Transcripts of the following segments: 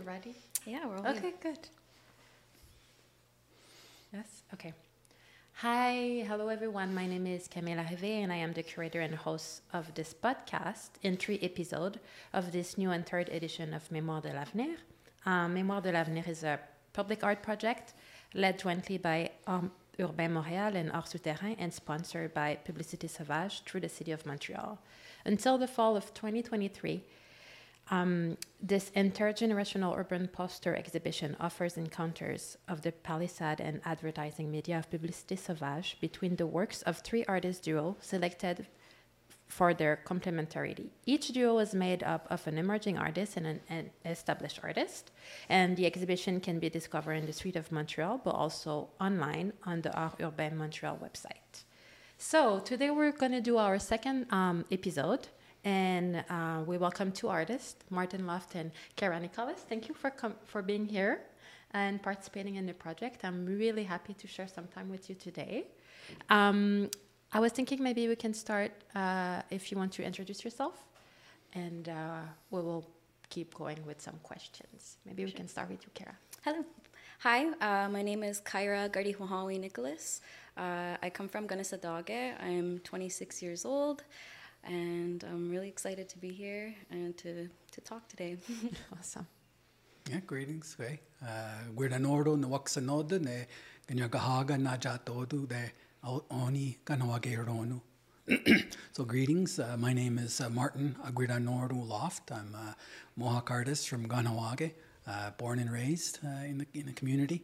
ready? Yeah, we're all Okay, good. Yes, okay. Hi, hello everyone. My name is Camille Arrivé, and I am the curator and host of this podcast in 3 episodes of this new and third edition of Mémoire de l'Avenir. Mémoire de l'Avenir is a public art project led jointly by Urbain Montréal and Art Souterrain and sponsored by Publicité Sauvage through the City of Montreal. Until the fall of 2023, this intergenerational urban poster exhibition offers encounters of the palissade and advertising media of Publicité Sauvage between the works of 3 artist duo selected for their complementarity. Each duo is made up of an emerging artist and an established artist, and the exhibition can be discovered in the street of Montreal, but also online on the Art Urbain Montreal website. So today we're going to do our second episode. And we welcome 2 artists, Martin Loft and Kara Nicholas. Thank you for being here and participating in the project. I'm really happy to share some time with you today. I was thinking maybe we can start if you want to introduce yourself, and we will keep going with some questions. Maybe we can start with you, Kara. Hello. Hi, my name is Kyra Gardi-Mohawi Nicholas. I come from Gunnesadage. I'm 26 years old. And I'm really excited to be here and to talk today. Awesome. Yeah, greetings. Gwirda Nordo na Waksanoda ne Ganyagahaga na Jatodu de Oni Ganawage Ronu. So greetings. My name is Martin Agwirda Nordo Loft. I'm a Mohawk artist from Ganawage, born and raised in the community.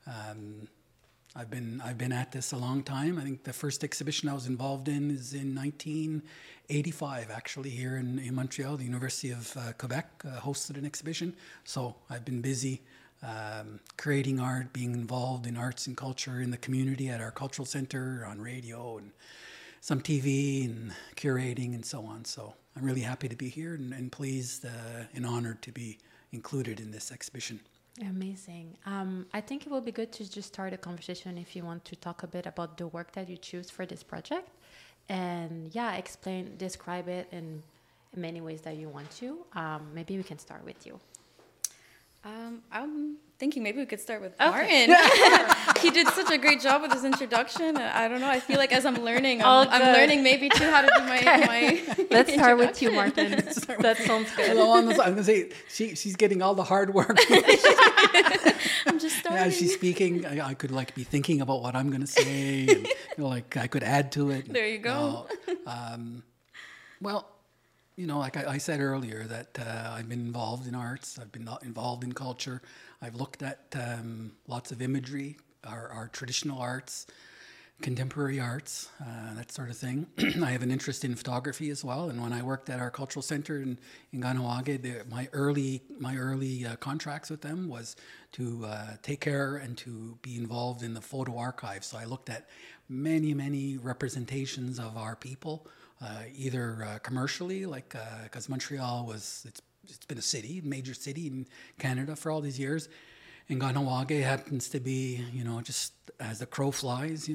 I've been at this a long time. I think the first exhibition I was involved in is in 1985, actually, here in Montreal. The University of Quebec hosted an exhibition. So I've been busy creating art, being involved in arts and culture in the community at our cultural center, on radio, and some TV, and curating, and so on. So I'm really happy to be here and pleased and honored to be included in this exhibition. Amazing. I think it will be good to just start a conversation if you want to talk a bit about the work that you choose for this project, and describe it in many ways that you want to. Maybe we can start with you. I'm thinking maybe we could start with Okay. Martin. He did such a great job with his introduction. I don't know. I feel like as I'm learning, I'm learning maybe too how to do my Let's start with you, Martin. That sounds good. I'm going to say, she's getting all the hard work. I'm just starting. As she's speaking, I could be thinking about what I'm going to say, and I could add to it. There you go. Well, like I said earlier, that I've been involved in arts. I've been involved in culture. I've looked at lots of imagery, our traditional arts, contemporary arts, that sort of thing. I have an interest in photography as well. And when I worked at our cultural center in Ganawage, my early contracts with them was to take care and to be involved in the photo archive. So I looked at many representations of our people. Either commercially, because Montreal it's been a major city in Canada for all these years, and Ganawage happens to be, just as the crow flies,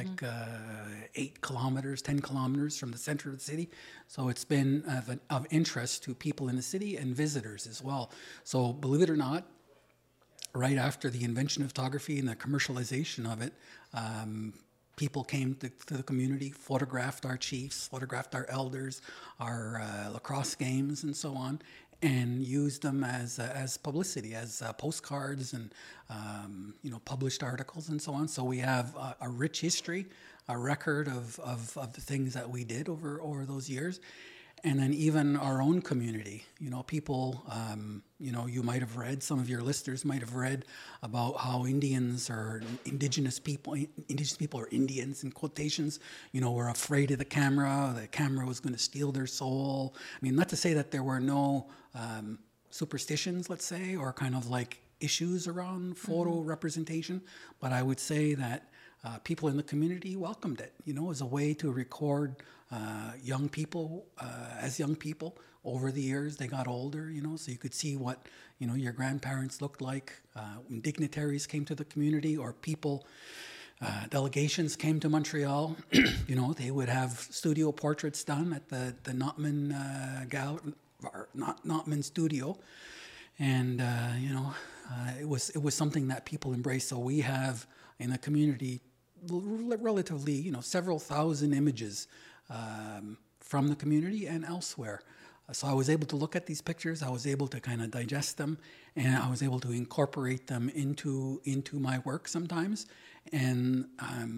8 kilometers, 10 kilometers from the center of the city. So it's been of interest to people in the city and visitors as well. So believe it or not, right after the invention of photography and the commercialization of it, people came to the community, photographed our chiefs, photographed our elders, our lacrosse games, and so on, and used them as publicity, as postcards and published articles and so on. So we have a rich history, a record of the things that we did over those years. And then even our own community, people, you might have read, some of your listeners might have read about how Indians or indigenous people or Indians in quotations, were afraid of the camera was going to steal their soul. I mean, not to say that there were no superstitions, let's say, or kind of issues around photo representation, but I would say that people in the community welcomed it, as a way to record young people as young people. Over the years, they got older, so you could see what, your grandparents looked like when dignitaries came to the community, or people, delegations came to Montreal. They would have studio portraits done at the Notman Notman studio. And it was something that people embraced. So we have in the community relatively, several thousand images from the community and elsewhere. So I was able to look at these pictures. I was able to kind of digest them, and I was able to incorporate them into my work sometimes. And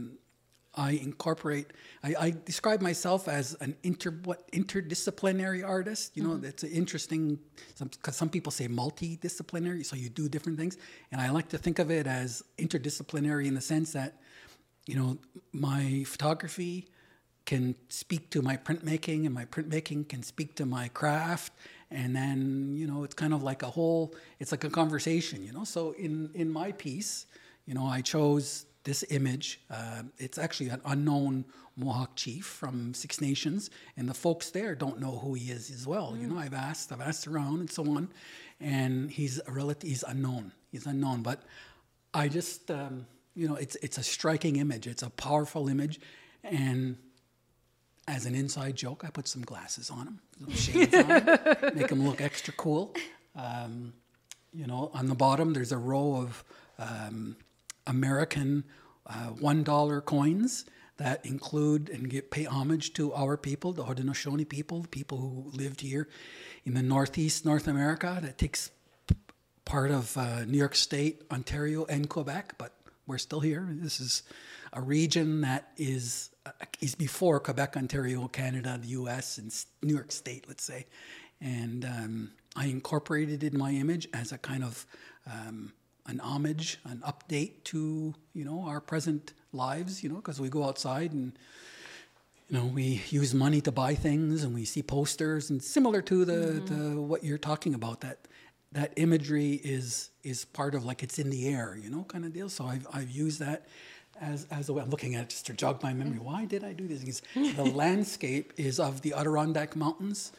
I describe myself as an interdisciplinary artist. That's interesting, because some people say multidisciplinary, so you do different things. And I like to think of it as interdisciplinary in the sense that, my photography can speak to my printmaking, and my printmaking can speak to my craft. And then, it's kind of like it's like a conversation, So in my piece, I chose this image. It's actually an unknown Mohawk chief from Six Nations, and the folks there don't know who he is as well. I've asked around and so on, and he's unknown. He's unknown, but I just, it's a striking image. It's a powerful image, and as an inside joke, I put some glasses on him, some shades on him, make him look extra cool. On the bottom, there's a row of American $1 coins that include and pay homage to our people, the Haudenosaunee people, the people who lived here in the Northeast North America. That takes part of New York State, Ontario, and Quebec, but we're still here. This is a region that is before Quebec, Ontario, Canada, the U.S., and New York State, let's say. And I incorporated it in my image as a kind of an homage, an update to, our present lives, because we go outside and, we use money to buy things, and we see posters, and similar to the what you're talking about, that imagery is part of, like, it's in the air, kind of deal. So I've used that as a way. I'm looking at it just to jog my memory. Why did I do this? Because the landscape is of the Adirondack Mountains,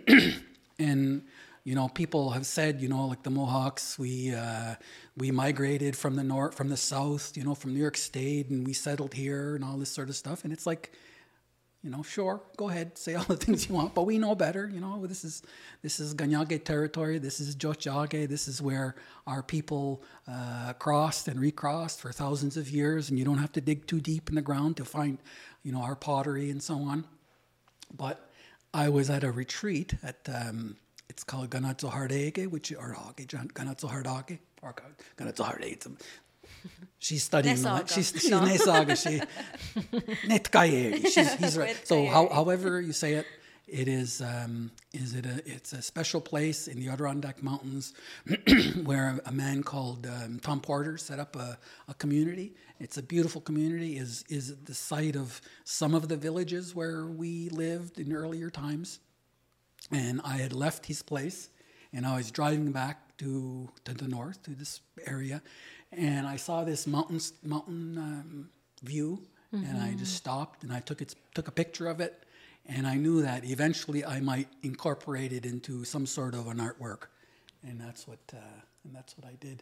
and people have said, like the Mohawks, we migrated from the north, from the south, from New York State, and we settled here and all this sort of stuff. And it's like, sure, go ahead, say all the things you want, but we know better. This is Ganyage territory. This is Tiohtià:ke. This is where our people crossed and recrossed for thousands of years, and you don't have to dig too deep in the ground to find, our pottery and so on. But I was at a retreat at it's called Ganatsohardaake, Ganatsohardaake, or Ganatsohardaake. She's studying. She's Nesaga. He's right. So however you say it, it's a special place in the Adirondack Mountains where a man called Tom Porter set up a community. It's a beautiful community. Is the site of some of the villages where we lived in earlier times. And I had left his place, and I was driving back to the north, to this area, and I saw this mountain view, and I just stopped, and I took a picture of it, and I knew that eventually I might incorporate it into some sort of an artwork, and that's what I did.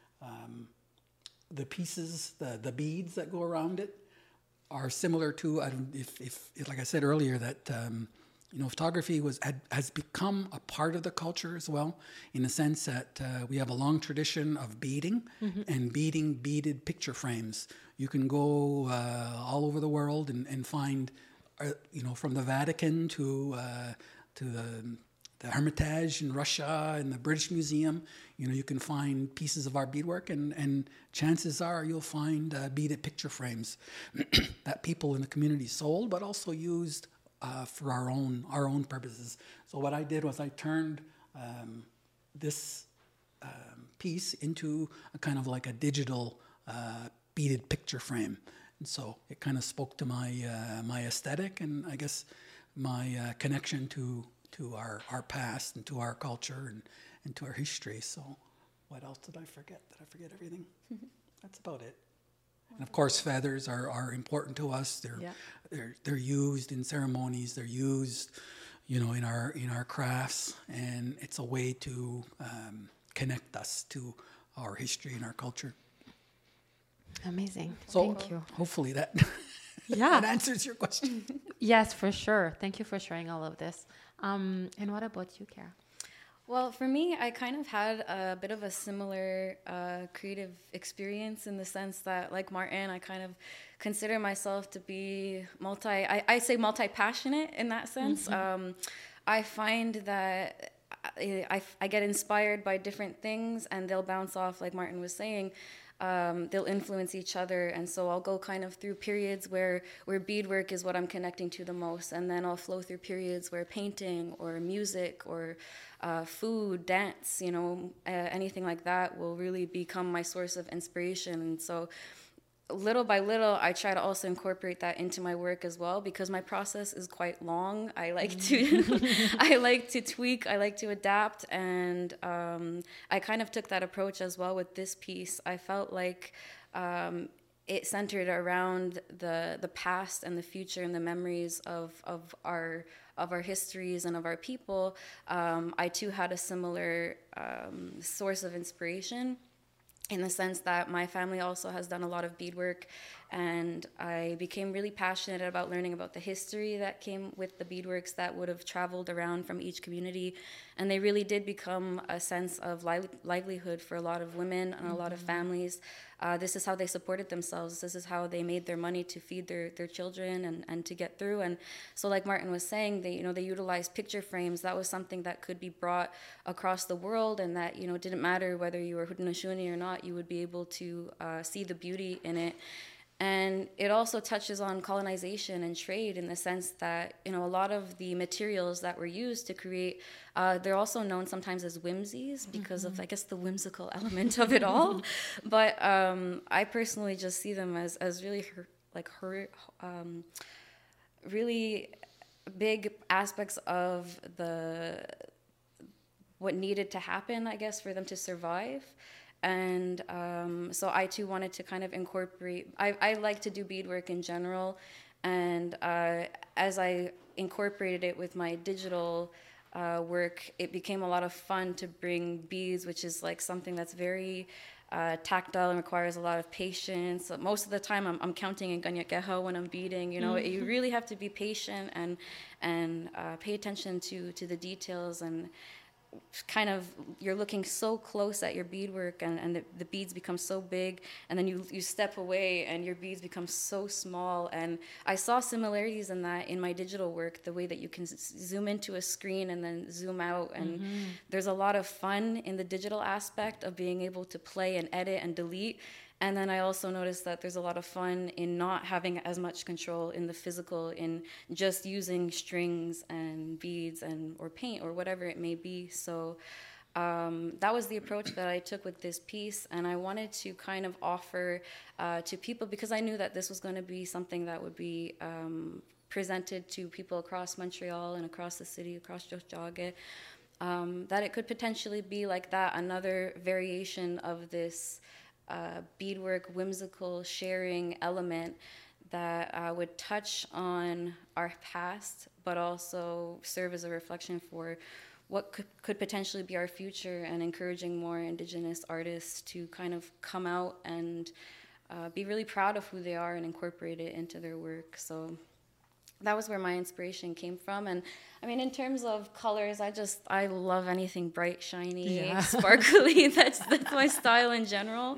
The pieces, the beads that go around it, are similar to, if like I said earlier, that. Photography has become a part of the culture as well, in the sense that we have a long tradition of beading and beaded picture frames. You can go all over the world and find, from the Vatican to the Hermitage in Russia and the British Museum, you can find pieces of our beadwork, and chances are you'll find beaded picture frames that people in the community sold, but also used for our own purposes. So what I did was I turned this piece into a kind of like a digital beaded picture frame, and so it kind of spoke to my aesthetic, and I guess my connection to our past and to our culture and to our history. So what else did I forget? Did I forget everything? That's about it. And of course, feathers are important to us. They're used in ceremonies. They're used, in our crafts, and it's a way to connect us to our history and our culture. Amazing. So thank you. Hopefully that that answers your question. Yes, for sure. Thank you for sharing all of this. And what about you, Kara? Well, for me, I kind of had a bit of a similar creative experience in the sense that, like Martin, I kind of consider myself to be I say multi-passionate in that sense. I find that I get inspired by different things and they'll bounce off, like Martin was saying. They'll influence each other, and so I'll go kind of through periods where beadwork is what I'm connecting to the most, and then I'll flow through periods where painting or music or food, dance, anything like that will really become my source of inspiration. And so little by little, I try to also incorporate that into my work as well, because my process is quite long. I like to, I like to tweak, I like to adapt, and I kind of took that approach as well with this piece. I felt like it centered around the past and the future and the memories of our histories and of our people. I too had a similar source of inspiration, in the sense that my family also has done a lot of beadwork, and I became really passionate about learning about the history that came with the beadworks that would have traveled around from each community, and they really did become a sense of livelihood for a lot of women and a lot of families. This is how they supported themselves. This is how they made their money to feed their children and to get through. And so, like Martin was saying, they utilized picture frames. That was something that could be brought across the world, and that it didn't matter whether you were Haudenosaunee or not, you would be able to see the beauty in it. And it also touches on colonization and trade, in the sense that, a lot of the materials that were used to create, they're also known sometimes as whimsies because of, I guess, the whimsical element of it all. But I personally just see them as really, really big aspects of what needed to happen, I guess, for them to survive. And so I too wanted to kind of incorporate, I like to do beadwork in general, and as I incorporated it with my digital work, it became a lot of fun to bring beads, which is like something that's very tactile and requires a lot of patience. Most of the time I'm counting in ganyakeha when I'm beading. You really have to be patient and pay attention to the details, and kind of you're looking so close at your beadwork, and the beads become so big, and then you step away and your beads become so small. And I saw similarities in that in my digital work, the way that you can zoom into a screen and then zoom out, and there's a lot of fun in the digital aspect of being able to play and edit and delete. And then I also noticed that there's a lot of fun in not having as much control in the physical, in just using strings and beads or paint or whatever it may be. So that was the approach that I took with this piece. And I wanted to kind of offer to people, because I knew that this was going to be something that would be presented to people across Montreal and across the city, across Tiohtià:ke, that it could potentially be like that, another variation of this beadwork, whimsical sharing element that would touch on our past, but also serve as a reflection for what could potentially be our future, and encouraging more Indigenous artists to kind of come out and be really proud of who they are and incorporate it into their work. So that was where my inspiration came from. And I mean, in terms of colors, I love anything bright, shiny, sparkly. That's my style in general.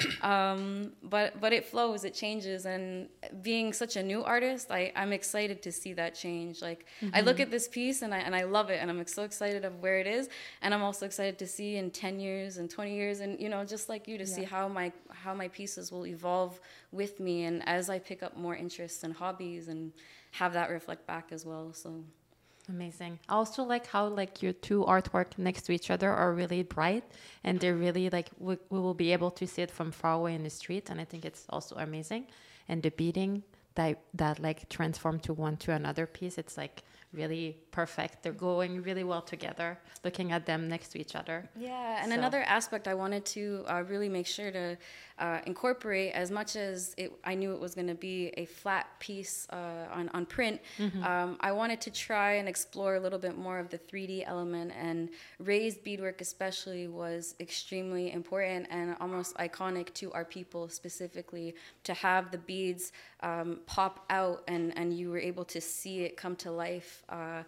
But it flows, it changes. And being such a new artist, I'm excited to see that change. Like I look at this piece and I love it, and I'm so excited of where it is. And I'm also excited to see in 10 years and 20 years, and just like you, to see how my pieces will evolve with me, and as I pick up more interests and hobbies, and have that reflect back as well. So amazing. I also like how your two artwork next to each other are really bright, and they're really we will be able to see it from far away in the street, and I think it's also amazing. And the beading that transformed to another piece, it's really perfect. They're going really well together, looking at them next to each other. Yeah, and another aspect I wanted to really make sure to incorporate, as much as I knew it was going to be a flat piece on print, I wanted to try and explore a little bit more of the 3D element, and raised beadwork especially was extremely important and almost iconic to our people specifically, to have the beads pop out and you were able to see it come to life.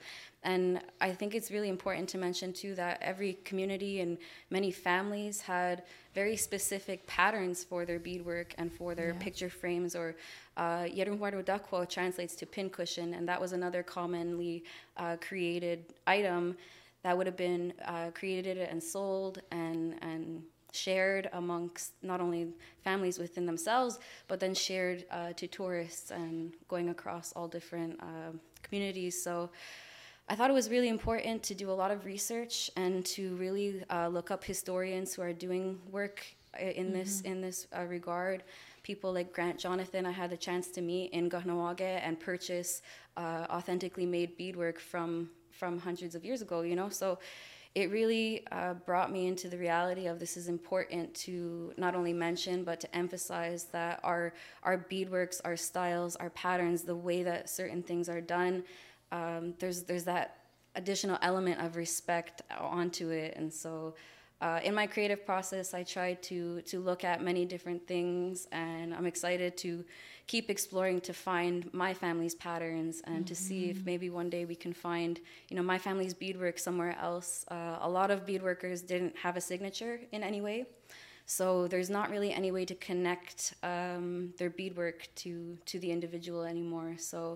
And I think it's really important to mention too that every community and many families had very specific patterns for their beadwork and for their picture frames, or Yerumwaru Dakwo translates to pincushion, and that was another commonly created item that would have been created and sold and shared amongst not only families within themselves, but then shared to tourists and going across all different communities. So I thought it was really important to do a lot of research and to really look up historians who are doing work in this regard. People like Grant Jonathan, I had the chance to meet in Kahnawake and purchase authentically made beadwork from hundreds of years ago, you know? So it really brought me into the reality of this is important to not only mention, but to emphasize that our beadworks, our styles, our patterns, the way that certain things are done, there's that additional element of respect onto it. And so in my creative process, I tried to look at many different things, and I'm excited to keep exploring to find my family's patterns and to see if maybe one day we can find, you know, my family's beadwork somewhere else. A lot of beadworkers didn't have a signature in any way, so there's not really any way to connect their beadwork to the individual anymore. So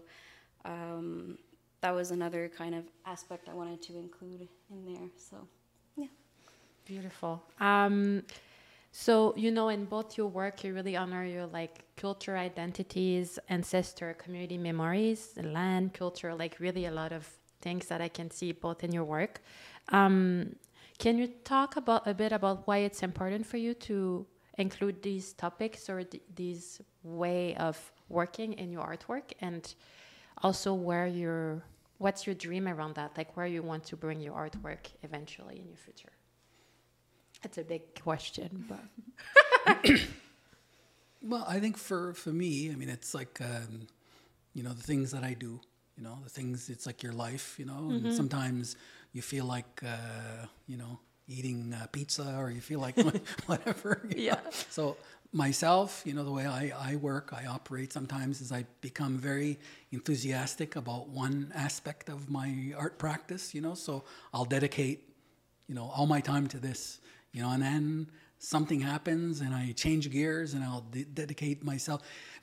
that was another kind of aspect I wanted to include in there. So yeah. Beautiful. So, you know, in both your work, you really honor your like culture identities, ancestor, community memories, land, culture, like really a lot of things that I can see both in your work. Can you talk a bit about why it's important for you to include these topics or these way of working in your artwork, and also what's your dream around that? Like where you want to bring your artwork eventually in your future? That's a big question, but Well, I think for me, I mean, it's like, you know, the things that I do, you know, the things, it's like your life, you know, and sometimes you feel like, you know, eating pizza, or you feel like whatever. You know? So myself, you know, the way I work, I operate sometimes is I become very enthusiastic about one aspect of my art practice, you know, so I'll dedicate, you know, all my time to this. You know, and then something happens and I change gears and I'll dedicate myself.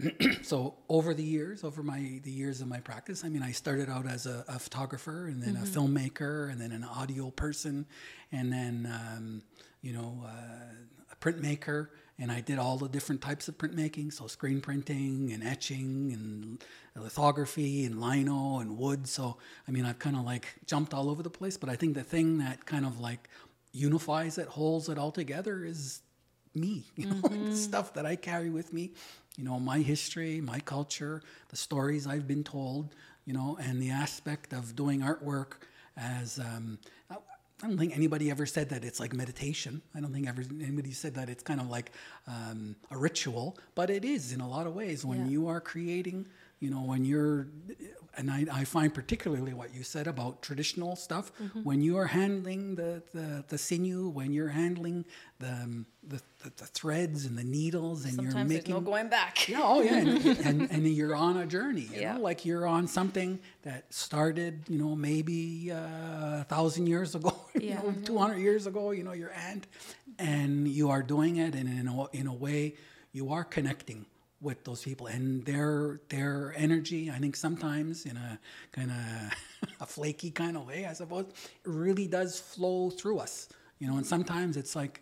So over the years of my practice, I mean, I started out as a photographer, and then a filmmaker, and then an audio person, and then, you know, a printmaker. And I did all the different types of printmaking, so screen printing and etching and lithography and lino and wood. So, I mean, I've kind of like jumped all over the place, but I think the thing that kind of like unifies it, holds it all together is me, you know, like the stuff that I carry with me, you know, my history, my culture, the stories I've been told, you know, and the aspect of doing artwork as, I don't think anybody ever said that it's like meditation. I don't think anybody said that it's kind of like a ritual, but it is in a lot of ways when you are creating, you know, when you're, and I find particularly what you said about traditional stuff, when you are handling the sinew, when you're handling the threads and the needles, and Sometimes you're making, there's no going back. yeah, oh yeah, and you're on a journey, you know, like you're on something that started, you know, maybe 1,000 years ago, you know, 200 years ago, you know, your aunt, and you are doing it, and in a way, you are connecting with those people and their energy. I think sometimes in a kind of a flaky kind of way, I suppose, it really does flow through us, you know. And sometimes it's like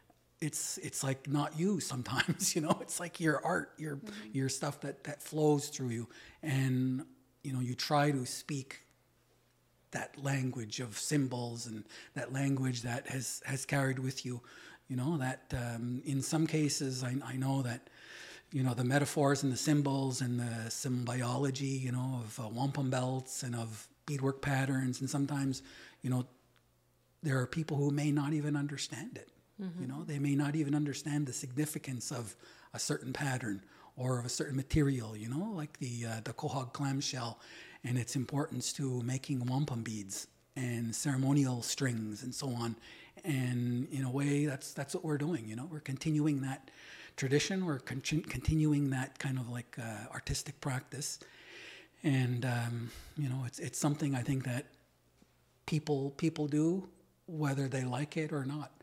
not you. Sometimes, you know, it's like your art, your stuff that flows through you, and you know, you try to speak that language of symbols and that language that has carried with you, you know. That in some cases, I know that, you know, the metaphors and the symbols and the symbology, you know, of wampum belts and of beadwork patterns. And sometimes, you know, there are people who may not even understand it. You know, they may not even understand the significance of a certain pattern or of a certain material, you know, like the quahog clamshell and its importance to making wampum beads and ceremonial strings and so on. And in a way, that's what we're doing, you know. We're continuing that tradition. We're continuing that kind of like artistic practice, and you know, it's something I think that people do, whether they like it or not.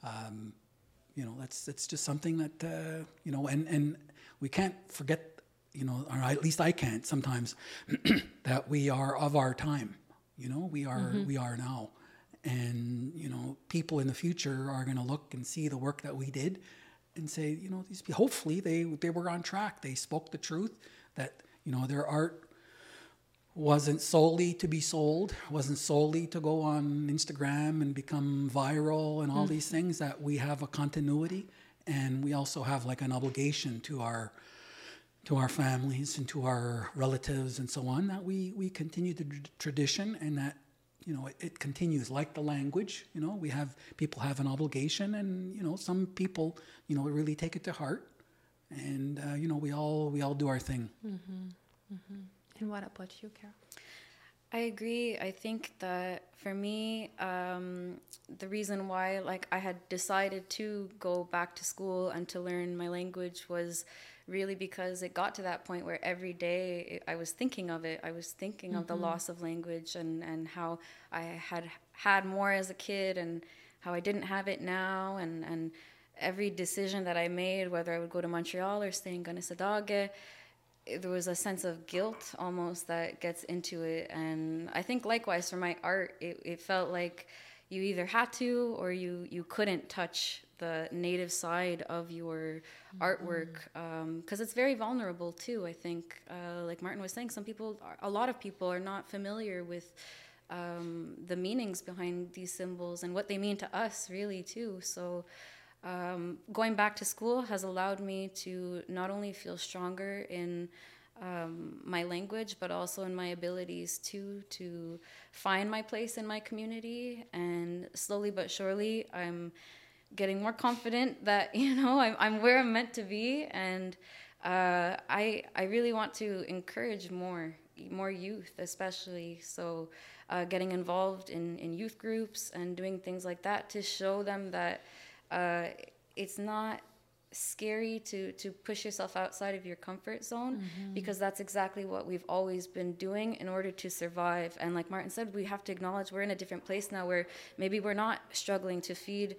It's just something that and we can't forget, or at least I can't sometimes, that we are of our time. We are now, and people in the future are going to look and see the work that we did, and say, these hopefully they were on track. They spoke the truth. That their art wasn't solely to be sold, wasn't solely to go on Instagram and become viral and all these things, that we have a continuity, and we also have like an obligation to our families and to our relatives and so on, that we continue the tradition, and that it continues like the language. People have an obligation, and some people really take it to heart, and we all do our thing. And what about you, Carol? I agree. I think that for me, the reason why I had decided to go back to school and to learn my language was really because it got to that point where every day I was thinking of it. I was thinking of the loss of language, and how I had more as a kid, and how I didn't have it now, and every decision that I made, whether I would go to Montreal or stay in Gunnesadage, there was a sense of guilt almost that gets into it. And I think likewise for my art, it felt like you either had to or you couldn't touch the native side of your artwork, because it's very vulnerable too. I think, like Martin was saying, a lot of people are not familiar with the meanings behind these symbols and what they mean to us really too. So going back to school has allowed me to not only feel stronger in my language, but also in my abilities to find my place in my community. And slowly but surely, I'm getting more confident that I'm where I'm meant to be. And I really want to encourage more youth, especially. So getting involved in youth groups and doing things like that to show them that it's not scary to push yourself outside of your comfort zone, because that's exactly what we've always been doing in order to survive. And like Martin said, we have to acknowledge we're in a different place now, where maybe we're not struggling to feed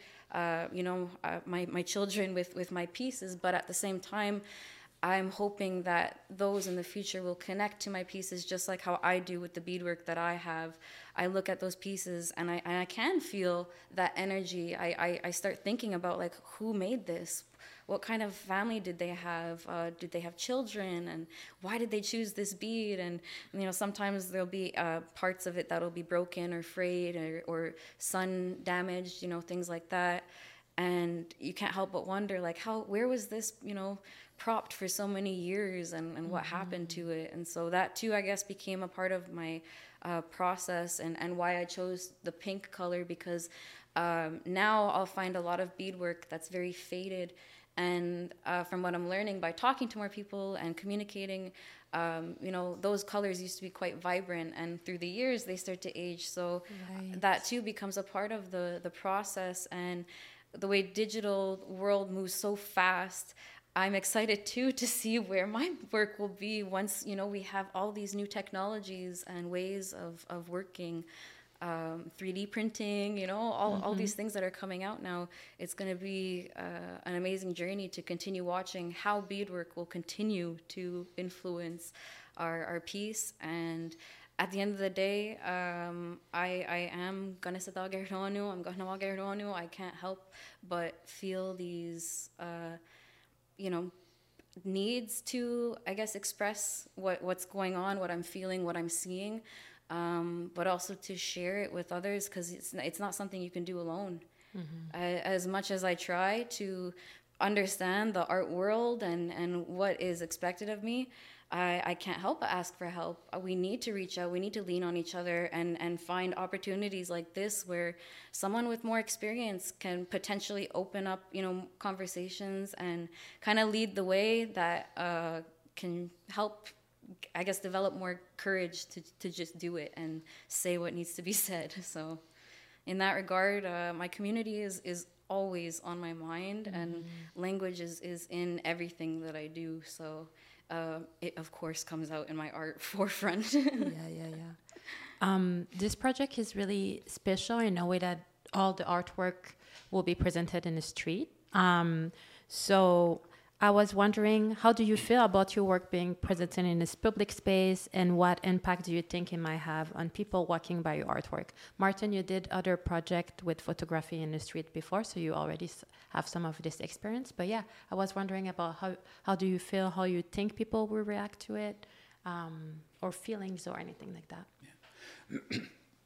my children with my pieces, but at the same time I'm hoping that those in the future will connect to my pieces just like how I do with the beadwork that I have. I look at those pieces and I can feel that energy. I start thinking about who made this? What kind of family did they have? Did they have children? And why did they choose this bead? And sometimes there'll be parts of it that'll be broken or frayed or sun damaged, things like that. And you can't help but wonder, where was this, propped for so many years, and what happened to it? And so that too, I guess, became a part of my process, and why I chose the pink color, because now I'll find a lot of beadwork that's very faded. And from what I'm learning by talking to more people and communicating, those colors used to be quite vibrant, and through the years they start to age. So that too becomes a part of the process. And the way digital world moves so fast, I'm excited too to see where my work will be once we have all these new technologies and ways of working, 3D printing, all these things that are coming out now. It's going to be an amazing journey to continue watching how beadwork will continue to influence our piece. And at the end of the day, I am Gunnesadage Hironu. I'm Gahnawage Hironu. I can't help but feel these needs to, I guess, express what's going on, what I'm feeling, what I'm seeing, but also to share it with others, because it's not something you can do alone. As much as I try to understand the art world and what is expected of me, I can't help but ask for help. We need to reach out. We need to lean on each other and find opportunities like this, where someone with more experience can potentially open up, conversations and kind of lead the way that can help, I guess, develop more courage to just do it and say what needs to be said. So in that regard, my community is always on my mind, and language is in everything that I do. So it, of course, comes out in my art forefront. Yeah. This project is really special in a way that all the artwork will be presented in the street. So I was wondering, how do you feel about your work being presented in this public space, and what impact do you think it might have on people walking by your artwork? Martin, you did other project with photography in the street before, so you already have some of this experience. But yeah, I was wondering about how do you feel, how you think people will react to it, or feelings or anything like that. Yeah.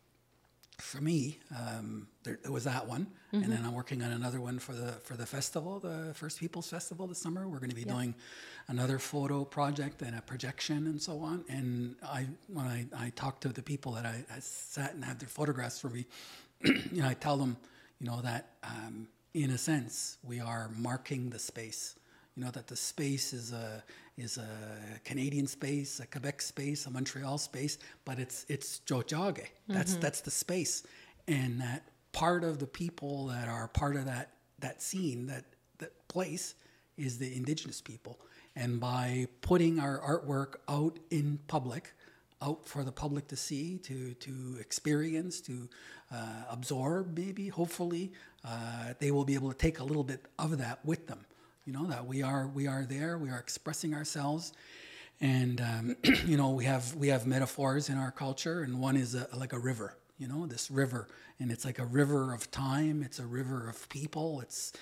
For me, there was that one, and then I'm working on another one for the festival, the First Peoples Festival this summer. We're going to be doing another photo project and a projection and so on. And when I talk to the people that I sat and had their photographs for me, I tell them, that in a sense we are marking the space. That the space is a Canadian space, a Quebec space, a Montreal space, but it's Tiohtià:ke. That's the space, and that part of the people that are part of that scene, that place, is the Indigenous people. And by putting our artwork out in public, out for the public to see, to experience, to absorb, maybe, hopefully, they will be able to take a little bit of that with them. That we are there, we are expressing ourselves, and we have metaphors in our culture, and one is like a river. This river, and it's like a river of time. It's a river of people. It's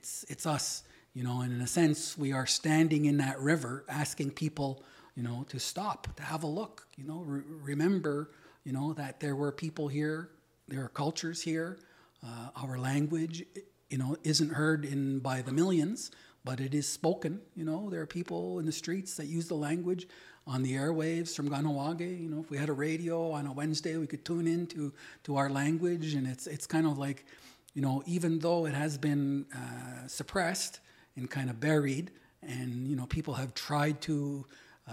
us. And in a sense, we are standing in that river, asking people, to stop, to have a look. Remember, that there were people here, there are cultures here. Our language, isn't heard by the millions, but it is spoken. There are people in the streets that use the language on the airwaves from Kahnawake. If we had a radio on a Wednesday, we could tune in to our language, and it's kind of like, even though it has been suppressed and kind of buried, and people have tried to,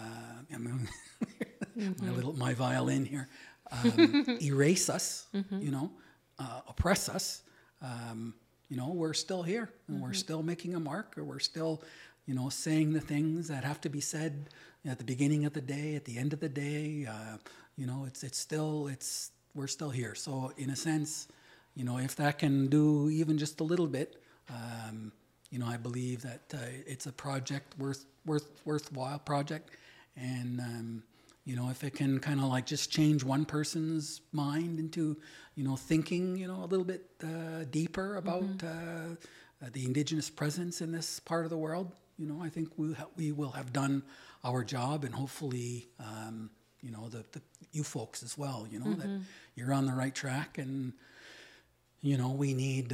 my violin here, erase us, oppress us. We're still here, and we're still making a mark, or we're still, saying the things that have to be said at the beginning of the day, at the end of the day. We're still here. So in a sense, if that can do even just a little bit, I believe that it's a project worthwhile project, and if it can kind of like just change one person's mind into, thinking, a little bit deeper about the Indigenous presence in this part of the world, I think we will have done our job, and hopefully, the you folks as well, that you're on the right track, and we need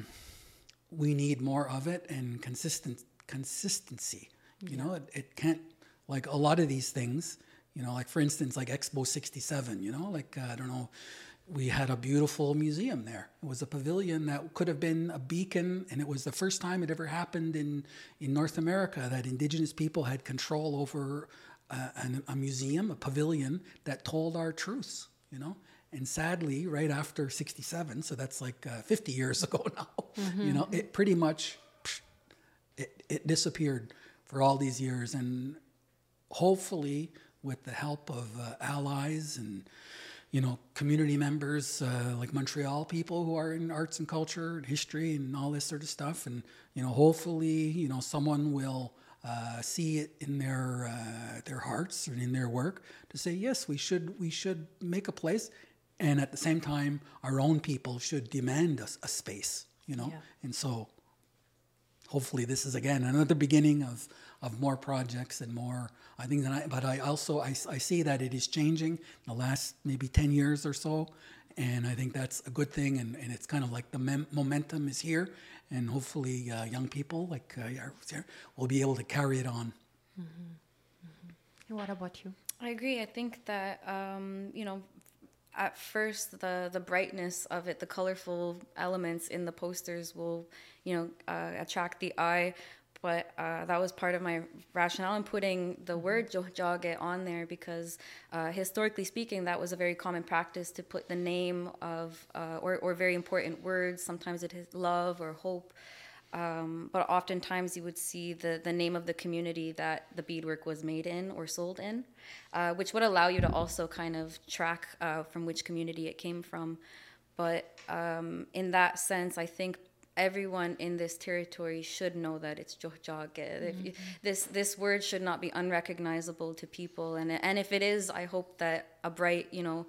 more of it, and consistency. It can't, like a lot of these things. Like for instance, like Expo 67, I don't know, we had a beautiful museum there. It was a pavilion that could have been a beacon, and it was the first time it ever happened in North America that Indigenous people had control over a museum, a pavilion that told our truths, And sadly, right after 67, so that's like 50 years ago now, it pretty much, it disappeared for all these years. And hopefully, with the help of allies and, community members like Montreal people who are in arts and culture and history and all this sort of stuff. And, hopefully, someone will see it in their hearts and in their work to say, yes, we should make a place. And at the same time, our own people should demand a space, And so hopefully this is, again, another beginning of more projects and more, I think but I also see that it is changing in the last maybe 10 years or so, and I think that's a good thing, and it's kind of like the momentum is here, and hopefully young people like will be able to carry it on. And what about you? I agree. I think that, at first the brightness of it, the colorful elements in the posters will, attract the eye. But that was part of my rationale in putting the word Tiohtià:ke on there, because historically speaking, that was a very common practice to put the name of or very important words. Sometimes it is love or hope But oftentimes you would see the name of the community that the beadwork was made in or sold in, which would allow you to also kind of track from which community it came from. But in that sense, I think everyone in this territory should know that it's Tjohjage. This word should not be unrecognizable to people. And if it is, I hope that a bright,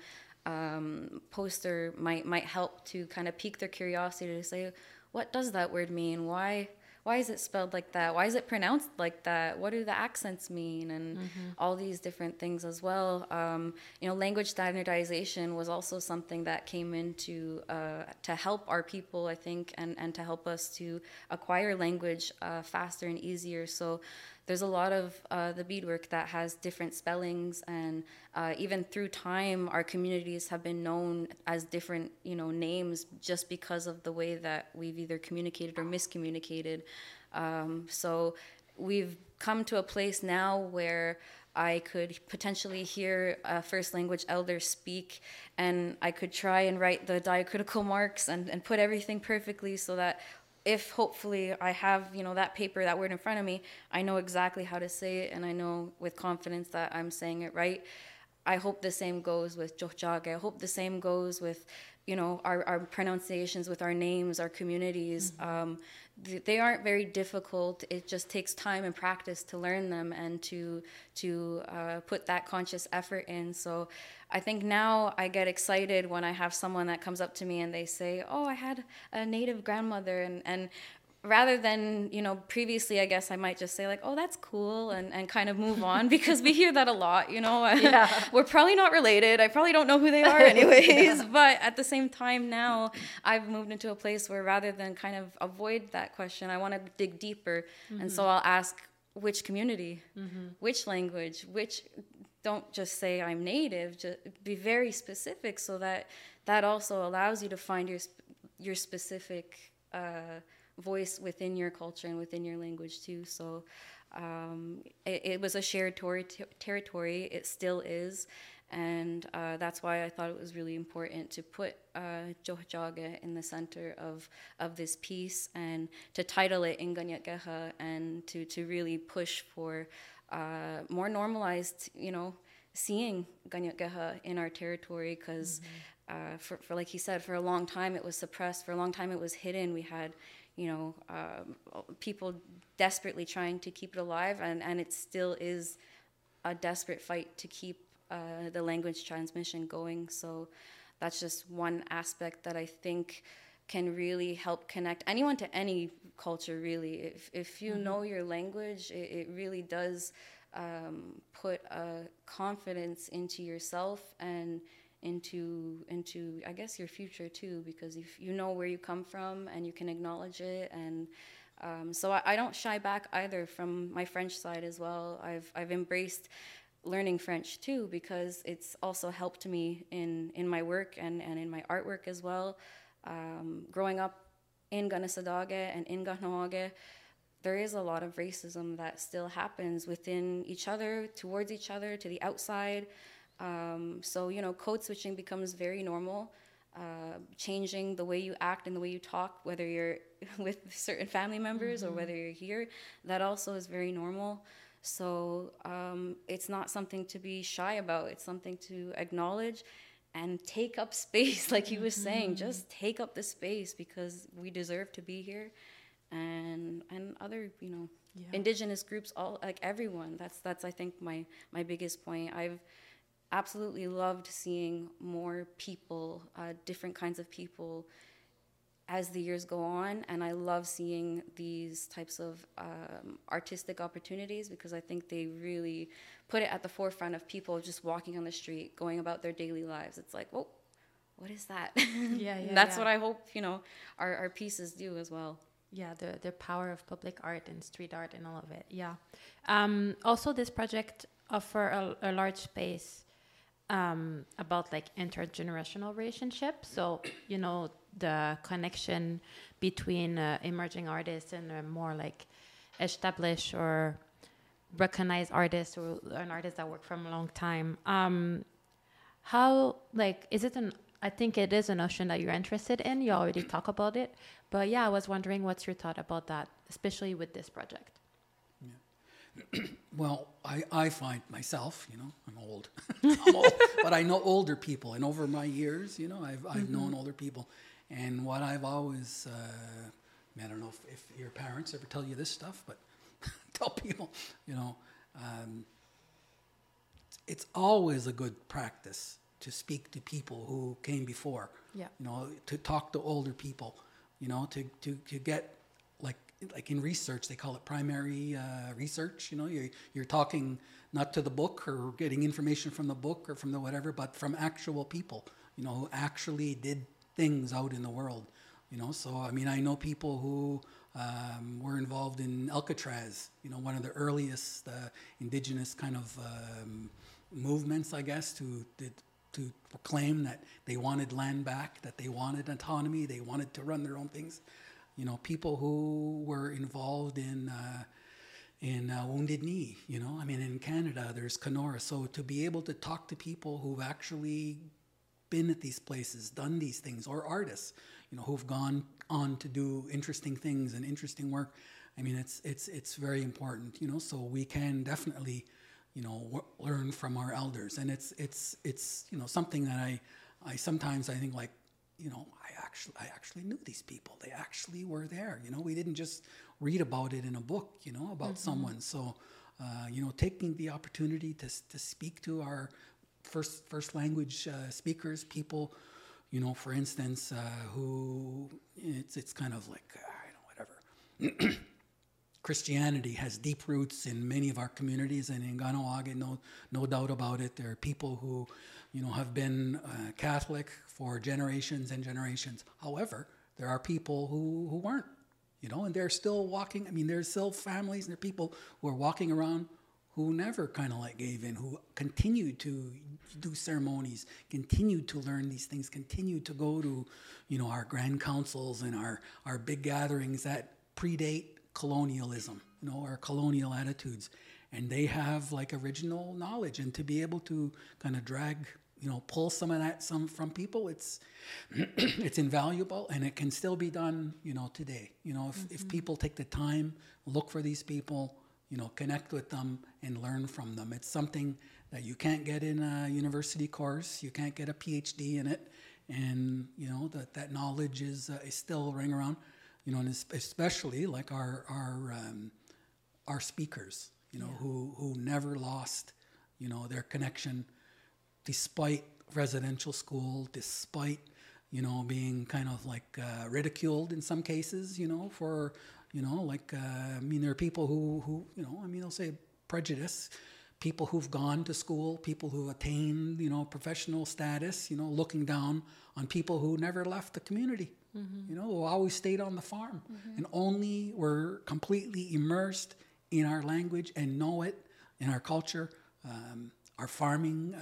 poster might help to kind of pique their curiosity to say, what does that word mean? Why is it spelled like that? Why is it pronounced like that? What do the accents mean? And all these different things as well. Language standardization was also something that came into to help our people, I think, and to help us to acquire language faster and easier. So there's a lot of the beadwork that has different spellings, and even through time, our communities have been known as different, names just because of the way that we've either communicated or miscommunicated. So we've come to a place now where I could potentially hear a first language elder speak, and I could try and write the diacritical marks and put everything perfectly so that if hopefully I have, that paper, that word in front of me, I know exactly how to say it, and I know with confidence that I'm saying it right. I hope the same goes with Tjohjage. I hope the same goes with, our pronunciations, with our names, our communities. They aren't very difficult. It just takes time and practice to learn them and to put that conscious effort in. So I think now I get excited when I have someone that comes up to me and they say, oh, I had a native grandmother, and rather than, previously, I guess I might just say like, oh, that's cool, and kind of move on, because we hear that a lot, Yeah. We're probably not related. I probably don't know who they are anyways. Yeah. But at the same time now, I've moved into a place where rather than kind of avoid that question, I want to dig deeper. And so I'll ask, which community, which language, don't just say I'm native, just be very specific, so that also allows you to find your specific voice within your culture and within your language too. So it was a shared territory. It still is, and that's why I thought it was really important to put Tjohjage in the center of this piece, and to title it Inganyatgeha, and to really push for more normalized, seeing Ganyatgeha in our territory, because for like he said, for a long time it was suppressed. For a long time it was hidden. We had people desperately trying to keep it alive, and it still is a desperate fight to keep the language transmission going. So that's just one aspect that I think can really help connect anyone to any culture, really. If you know your language, it really does put a confidence into yourself and into I guess your future too, because if you know where you come from and you can acknowledge it. And so I don't shy back either from my French side as well. I've embraced learning French too, because it's also helped me in my work and in my artwork as well. Growing up in Ganisadage and in Kahnawake, there is a lot of racism that still happens within each other, towards each other, to the outside. So, code switching becomes very normal. Changing the way you act and the way you talk, whether you're with certain family members or whether you're here, that also is very normal. So it's not something to be shy about. It's something to acknowledge and take up space, like he was saying. Just take up the space, because we deserve to be here. And other, indigenous groups, all, like everyone. That's I think my biggest point. I've absolutely loved seeing more people, different kinds of people, as the years go on, and I love seeing these types of artistic opportunities, because I think they really put it at the forefront of people just walking on the street, going about their daily lives. It's like, whoa, what is that? That's what I hope our pieces do as well. Yeah, the power of public art and street art and all of it. Yeah. Also, this project offer a large space about like intergenerational relationships. So, the connection between emerging artists and more like established or recognized artists, or an artist that worked from a long time. How, like, is it an I think it is a notion that you're interested in. You already talk about it. But yeah, I was wondering what's your thought about that, especially with this project. Well, I find myself, I'm old. I'm old, but I know older people. And over my years, I've known older people. And what I've always, I don't know if your parents ever tell you this stuff, but tell people, it's always a good practice to speak to people who came before. Yeah. To talk to older people, to get like in research, they call it primary research. You're talking not to the book or getting information from the book or from the whatever, but from actual people, who actually did things out in the world. So I know people who were involved in Alcatraz, one of the earliest indigenous kind of movements, I guess, to proclaim that they wanted land back, that they wanted autonomy, they wanted to run their own things. People who were involved in Wounded Knee, in Canada, there's Kenora. So to be able to talk to people who've actually been at these places, done these things, or artists, who've gone on to do interesting things and interesting work, it's very important, so we can definitely, learn from our elders. And it's something that I sometimes I think like, I actually knew these people. They actually were there. We didn't just read about it in a book, about someone. So, taking the opportunity to speak to our first language speakers, people, for instance, who it's kind of like, whatever. Christianity has deep roots in many of our communities, and in Kahnawake, no doubt about it. There are people who, have been Catholic for generations and generations. However, there are people who weren't, and they're still walking. There's still families and there are people who are walking around who never kind of like gave in, who continued to do ceremonies, continued to learn these things, continued to go to, our grand councils and our big gatherings that predate colonialism, our colonial attitudes. And they have like original knowledge, and to be able to kind of drag, pull some of that from people, it's it's invaluable, and it can still be done, today. If people take the time, look for these people, connect with them and learn from them. It's something that you can't get in a university course. You can't get a PhD in it, and that knowledge is still ring around. And especially like our speakers, who never lost, their connection, despite residential school, despite, being kind of like ridiculed in some cases, for, there are people who they'll say prejudice, people who've gone to school, people who've attained, professional status, looking down on people who never left the community, who always stayed on the farm and only were completely immersed in our language and know it, in our culture, our farming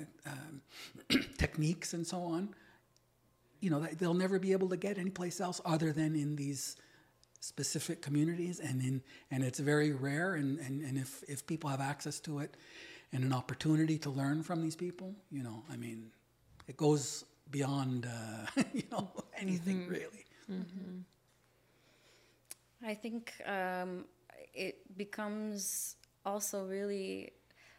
techniques and so on. They'll never be able to get anyplace else other than in these specific communities, and it's very rare, and if people have access to it and an opportunity to learn from these people, it goes beyond anything really. I think it becomes also really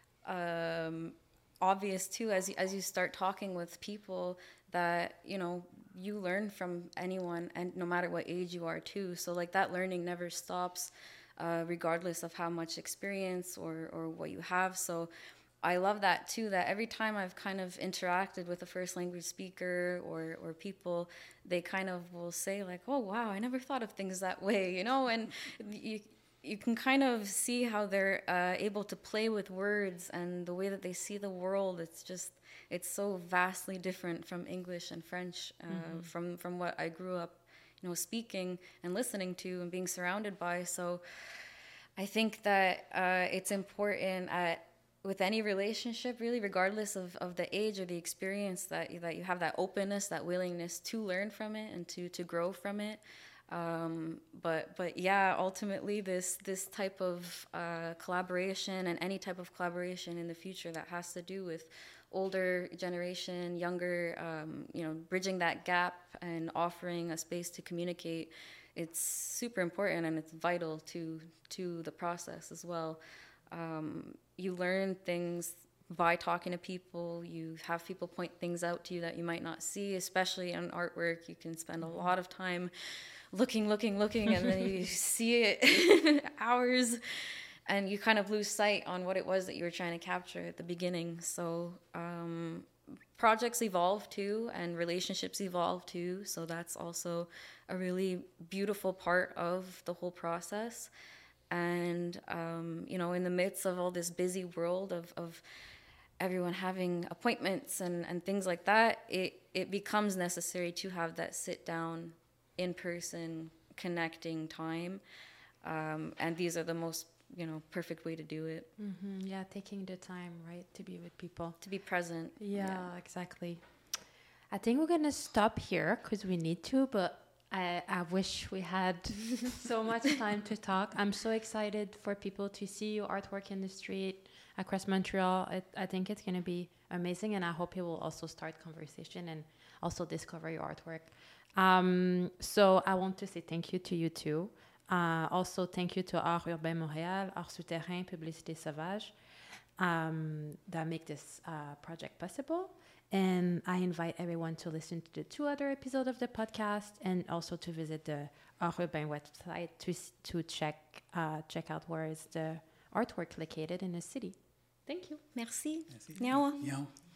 obvious too as you start talking with people that you learn from anyone, and no matter what age you are too. So like that learning never stops, regardless of how much experience or what you have. So I love that too, that every time I've kind of interacted with a first language speaker or people, they kind of will say like, oh wow, I never thought of things that way, and you can kind of see how they're able to play with words and the way that they see the world. It's so vastly different from English and French, from what I grew up, speaking and listening to and being surrounded by. So I think that it's important with any relationship, really, regardless of the age or the experience, that you have that openness, that willingness to learn from it and to grow from it. But yeah, ultimately this type of collaboration, and any type of collaboration in the future that has to do with older generation, younger, bridging that gap and offering a space to communicate, it's super important, and it's vital to the process as well. You learn things by talking to people. You have people point things out to you that you might not see, especially in artwork. You can spend a lot of time looking, and then you see it hours, and you kind of lose sight on what it was that you were trying to capture at the beginning. So projects evolve too, and relationships evolve too. So that's also a really beautiful part of the whole process. And, in the midst of all this busy world of everyone having appointments and things like that, it becomes necessary to have that sit down, in person, connecting time. And these are the most, perfect way to do it. Mm-hmm. Yeah, taking the time, right, to be with people. To be present. Yeah, exactly. I think we're going to stop here because we need to, but I wish we had so much time to talk. I'm so excited for people to see your artwork in the street across Montreal. I think it's going to be amazing, and I hope you will also start conversation and also discover your artwork. So I want to say thank you to you too. Also, thank you to Art Urbain Montréal, Art Souterrain, Publicité Sauvage, that make this project possible. And I invite everyone to listen to the 2 other episodes of the podcast, and also to visit the Art Urbain website to check out where is the artwork located in the city. Thank you. Merci. Merci. Nyawa. Meow.